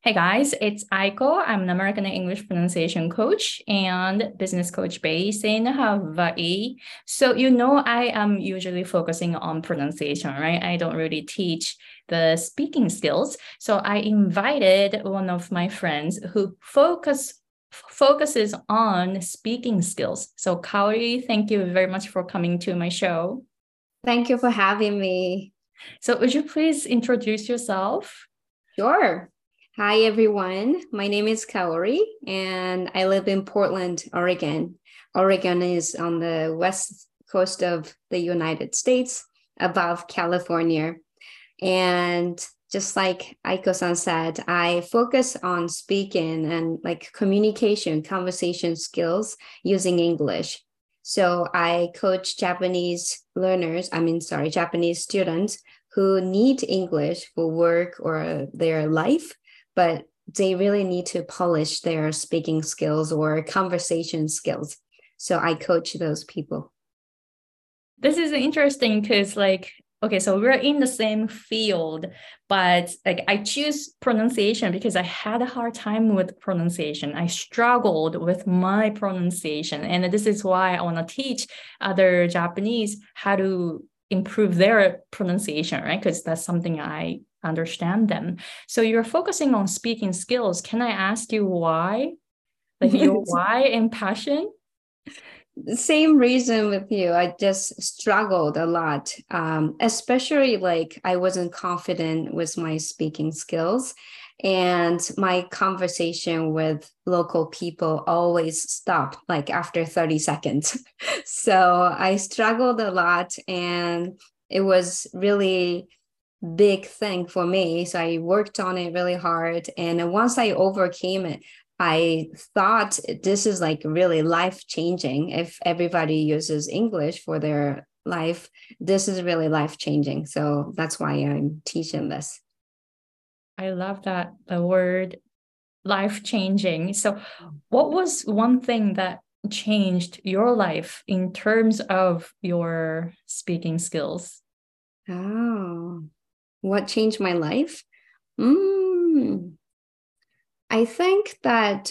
Hey guys, it's Aiko. I'm an American English pronunciation coach and business coach based in Hawaii. So, I am usually focusing on pronunciation, right? I don't really teach the speaking skills. So, I invited one of my friends who focuses on speaking skills. So, Kaori, thank you very much for coming to my show. Thank you for having me. So, would you please introduce yourself? Sure. Hi, everyone. My name is Kaori, and I live in Portland, Oregon. Oregon is on the west coast of the United States, above California. And just like Aiko-san said, I focus on speaking and like communication, conversation skills using English. So I coach Japanese students who need English for work or their life, but they really need to polish their speaking skills or conversation skills. So I coach those people. This is interesting because okay, so we're in the same field, but like I choose pronunciation because I had a hard time with pronunciation. I struggled with my pronunciation. And this is why I want to teach other Japanese how to improve their pronunciation, right? Because that's something I understand them. So you're focusing on speaking skills. Can I ask you why? Like your why and passion? Same reason with you. I just struggled a lot, especially like I wasn't confident with my speaking skills. And my conversation with local people always stopped like after 30 seconds. So I struggled a lot and it was really big thing for me. So I worked on it really hard. And once I overcame it, I thought this is like really life changing. If everybody uses English for their life, this is really life changing. So that's why I'm teaching this. I love that the word life changing. So, what was one thing that changed your life in terms of your speaking skills? Oh, what changed my life? Mm, I think that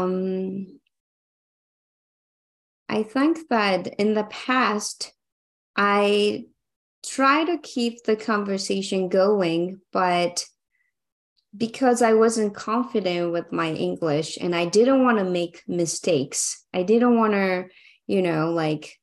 in the past I try to keep the conversation going, but because I wasn't confident with my English and I didn't want to make mistakes, I didn't want to, like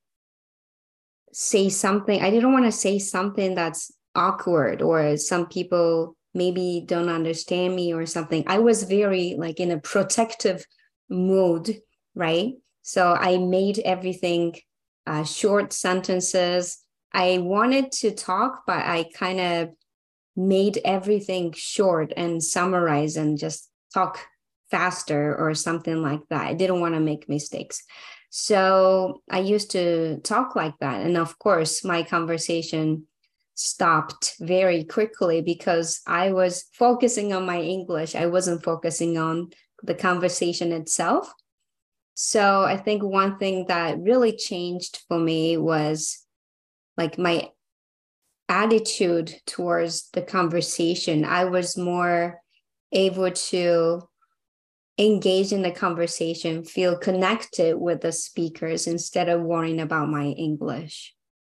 say something, I didn't want to say something that's awkward or some people maybe don't understand me or something. I was very like in a protective mood, right? So I made everything short sentences. I wanted to talk, but I kind of made everything short and summarize and just talk faster or something like that. I didn't want to make mistakes. So I used to talk like that. And of course, my conversation stopped very quickly because I was focusing on my English. I wasn't focusing on the conversation itself. So I think one thing that really changed for me was like my attitude towards the conversation. I was more able to engage in the conversation, feel connected with the speakers instead of worrying about my English.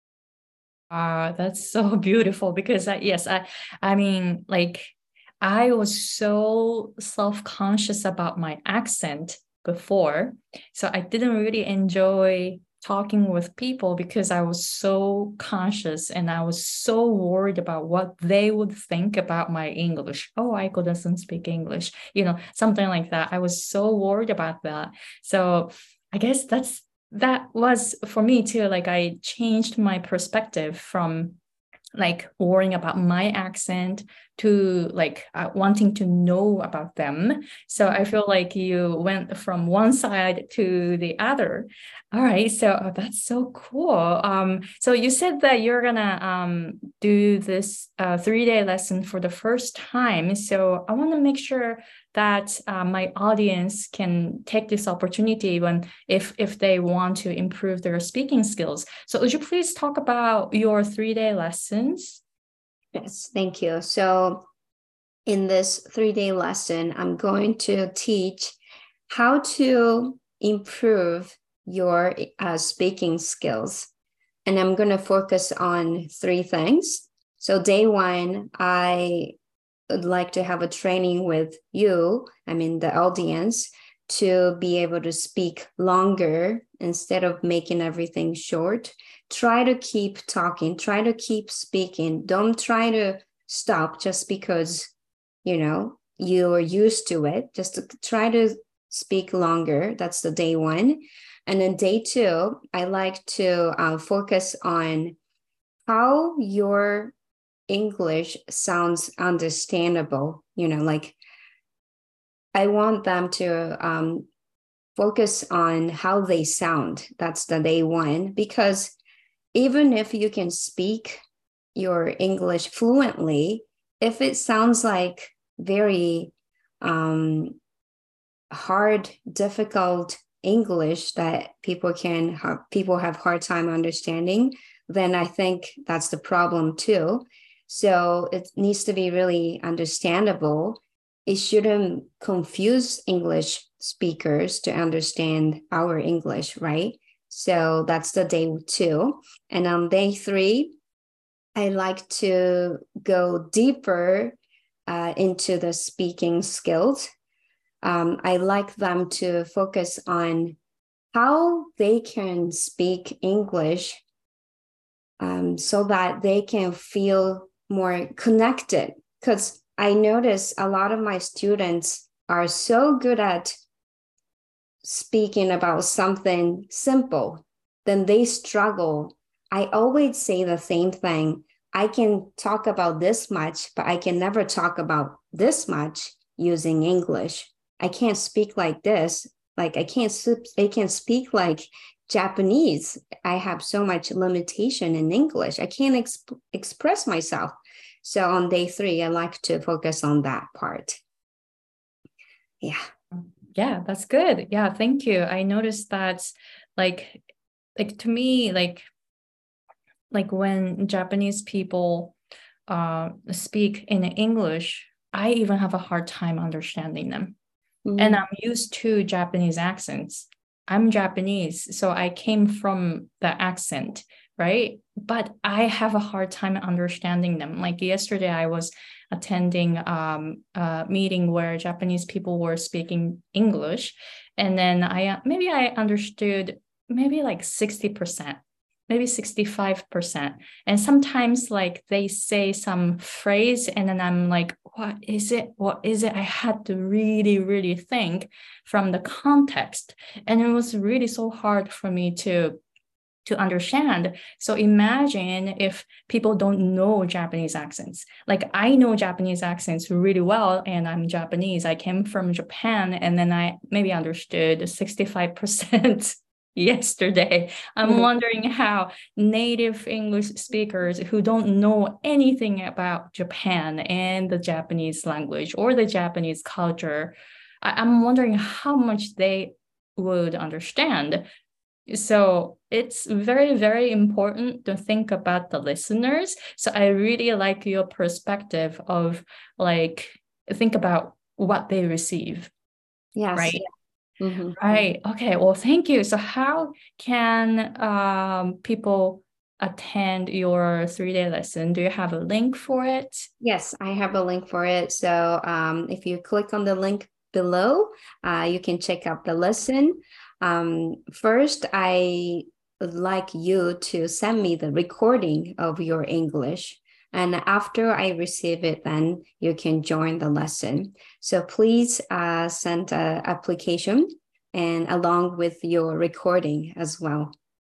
That's so beautiful because yes, I mean, like I was so self-conscious about my accent before, so I didn't really enjoy talking with people because I was so conscious and I was so worried about what they would think about my English. Oh, Aiko doesn't speak English, something like that. I was so worried about that. So I guess that was for me too. Like I changed my perspective from like worrying about my accent to like wanting to know about them. So I feel like you went from one side to the other. All right, so that's so cool. So you said that you're gonna do this 3-day lesson for the first time. So I want to make sure that my audience can take this opportunity when if they want to improve their speaking skills. So would you please talk about your 3-day lessons? Yes, thank you. So in this 3-day lesson, I'm going to teach how to improve your speaking skills. And I'm going to focus on 3 things. So day 1, I would like to have a training with you, the audience, to be able to speak longer instead of making everything short. Try to keep talking, try to keep speaking. Don't try to stop just because, you're used to it. Just to try to speak longer. That's the day 1. And then day 2, I like to focus on how your English sounds understandable. Like I want them to focus on how they sound. That's the day 1, because even if you can speak your English fluently, if it sounds like very hard, difficult English that people have hard time understanding, then I think that's the problem too. So it needs to be really understandable. It shouldn't confuse English speakers to understand our English, right? So that's the day 2. And on day 3, I like to go deeper into the speaking skills. I like them to focus on how they can speak English so that they can feel more connected. Because I notice a lot of my students are so good at speaking about something simple, then they struggle. I always say the same thing. I can talk about this much, but I can never talk about this much using English. I can't speak like this. Like I can't speak like Japanese. I have so much limitation in English. I can't express myself. So on day 3, I like to focus on that part. Yeah. Yeah, that's good. Yeah, thank you. I noticed that like to me, like when Japanese people speak in English, I even have a hard time understanding them. And I'm used to Japanese accents. I'm Japanese, so I came from the accent, right? But I have a hard time understanding them. Like yesterday, I was attending a meeting where Japanese people were speaking English, and then I understood maybe like 60%, maybe 65%. And sometimes like they say some phrase and then I'm like, what is it? I had to really, really think from the context. And it was really so hard for me to understand. So imagine if people don't know Japanese accents. Like I know Japanese accents really well, and I'm Japanese. I came from Japan, and then I maybe understood 65% yesterday. I'm wondering how native English speakers who don't know anything about Japan and the Japanese language or the Japanese culture, I'm wondering how much they would understand. So it's very, very important to think about the listeners. So I really like your perspective of like, think about what they receive. Yes. Right. Yeah. Mm-hmm. Right. Okay. Well, thank you. So how can people attend your 3-day lesson? Do you have a link for it? Yes, I have a link for it. So if you click on the link below, you can check out the lesson. First, I would like you to send me the recording of your English. And after I receive it, then you can join the lesson. So please send an application and along with your recording as well.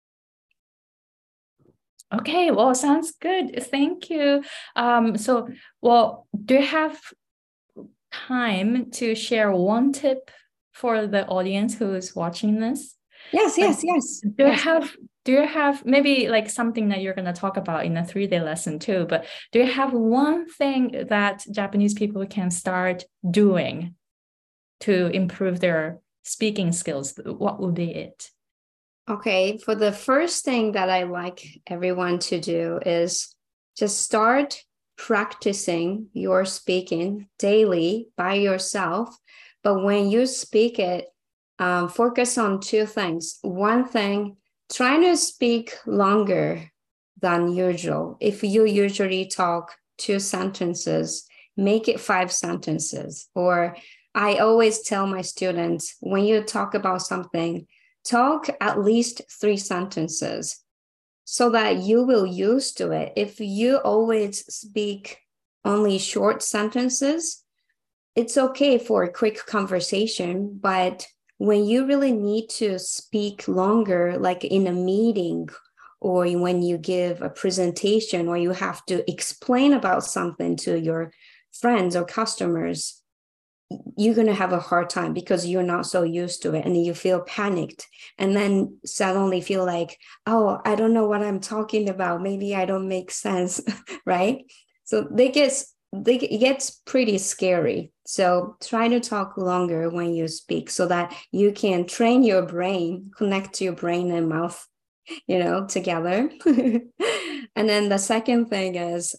Okay, well, sounds good. Thank you. Do you have time to share one tip for the audience who is watching this? Yes. Do you have maybe like something that you're going to talk about in a 3-day lesson too, but do you have one thing that Japanese people can start doing to improve their speaking skills? What would be it? Okay, for the first thing that I like everyone to do is just start practicing your speaking daily by yourself. But when you speak it, focus on two things. One thing, try to speak longer than usual. If you usually talk 2 sentences, make it 5 sentences. Or I always tell my students, when you talk about something, talk at least 3 sentences so that you will used to it. If you always speak only short sentences, it's okay for a quick conversation, but when you really need to speak longer, like in a meeting or when you give a presentation or you have to explain about something to your friends or customers, you're going to have a hard time because you're not so used to it and you feel panicked and then suddenly feel like, oh, I don't know what I'm talking about. Maybe I don't make sense, right? So it gets pretty scary. So try to talk longer when you speak so that you can train your brain, connect your brain and mouth, together. And then the second thing is,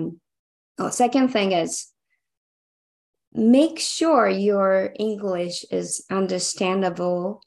make sure your English is understandable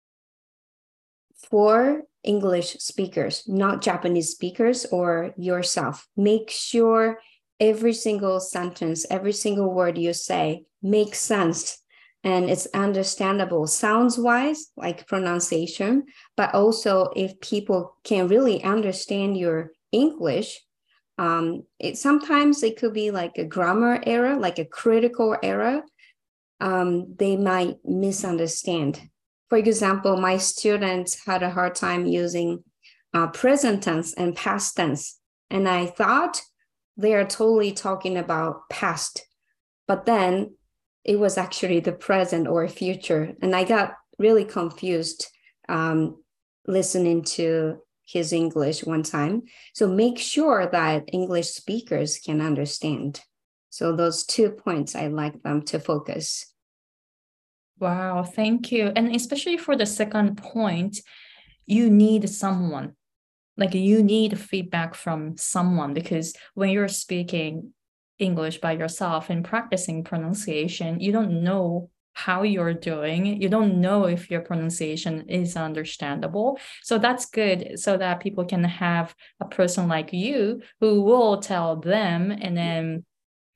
for English speakers, not Japanese speakers or yourself. Make sure every single sentence, every single word you say makes sense and it's understandable sounds-wise, like pronunciation, but also if people can really understand your English, sometimes it could be like a grammar error, like a critical error. They might misunderstand. For example, my students had a hard time using present tense and past tense, and I thought they are totally talking about past, but then it was actually the present or future, and I got really confused listening to his English one time. So make sure that English speakers can understand. So those 2 points, I like them to focus. Wow, thank you. And especially for the second point, you need someone. Like you need feedback from someone because when you're speaking English by yourself and practicing pronunciation, you don't know how you're doing. You don't know if your pronunciation is understandable. So that's good so that people can have a person like you who will tell them and then,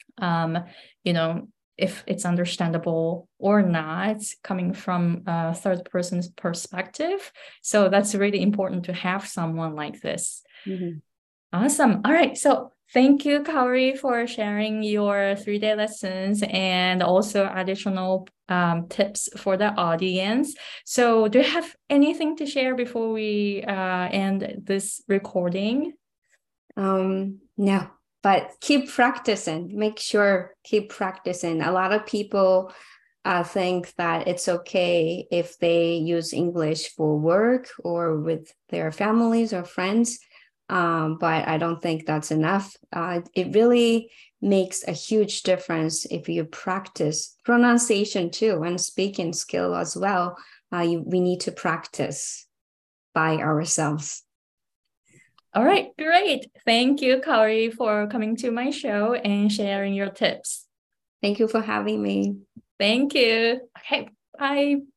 if it's understandable or not, coming from a third person's perspective. So that's really important to have someone like this. Mm-hmm. Awesome. All right. So thank you, Kaori, for sharing your 3-day lessons and also additional tips for the audience. So do you have anything to share before we end this recording? No, but keep practicing. Make sure keep practicing. A lot of people think that it's okay if they use English for work or with their families or friends. But I don't think that's enough. It really makes a huge difference if you practice pronunciation too and speaking skill as well. We need to practice by ourselves. All right, great. Thank you, Kaori, for coming to my show and sharing your tips. Thank you for having me. Thank you. Okay, bye.